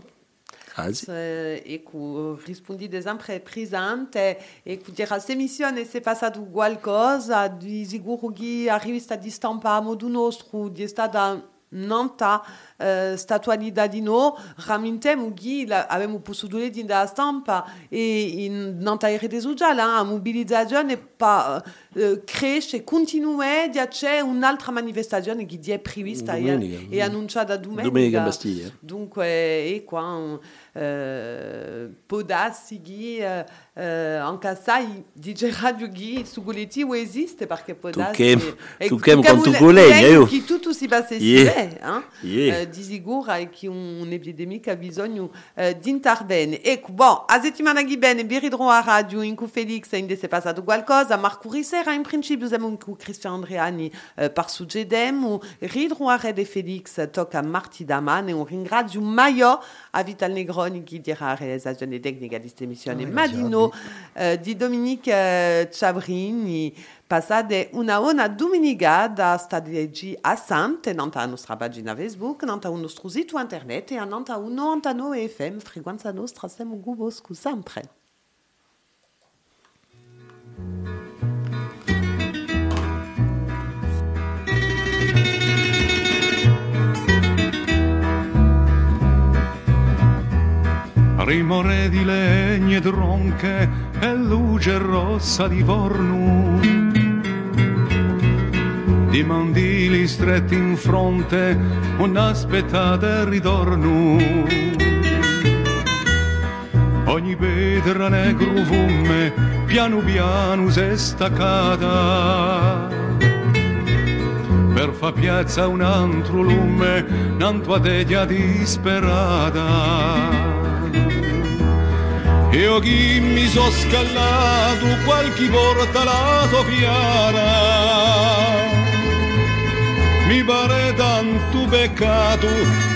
Ecco, rispondete sempre presente e dire a questa missione se è passato qualcosa, di sicuro che la rivista di stampa a modo nostro è stata nanta statualità di no ramintemo che abbiamo potuto leggere dalla stampa e in nanta rete sociale la mobilizzazione cresce continua c'è un'altra manifestazione che è prevista e annunciata domenica in Bastiglia. Dunque qua può darsi che anche sai dice Radio Ghi su Guletti esiste perché può darsi tu che con tu collega che tutto si passa di sicuro e che un'epidemia ha bisogno di intervenire. Ecco, a settimana che viene vi ridrò a radio in cui Felix è passato qualcosa, Marco Risera in principio siamo in cui Cristian Andreani per succedemo, ridrò a Rede Felix tocca a Marti Daman e un ringrazio Maio a Vital Negroni che dirà la realizzazione tecnica di questa emissione Madino di Dominique Ciabrini passate una domenica da stadi a Sante nanta a nostra pagina Facebook nanta un nostro sito internet e nanta un 99 FM frequenza nostra siamo guboscu sempre. Rimore di legne tronche e luce rossa di forno, di mandili stretti in fronte, un'aspettata il ritorno. Ogni pietra negro fume, piano piano s'è staccata, per fa piazza un altro lume, un'altra teglia disperata. Io chi mi so scallato, qualche porta la soffiara, mi pare tanto peccato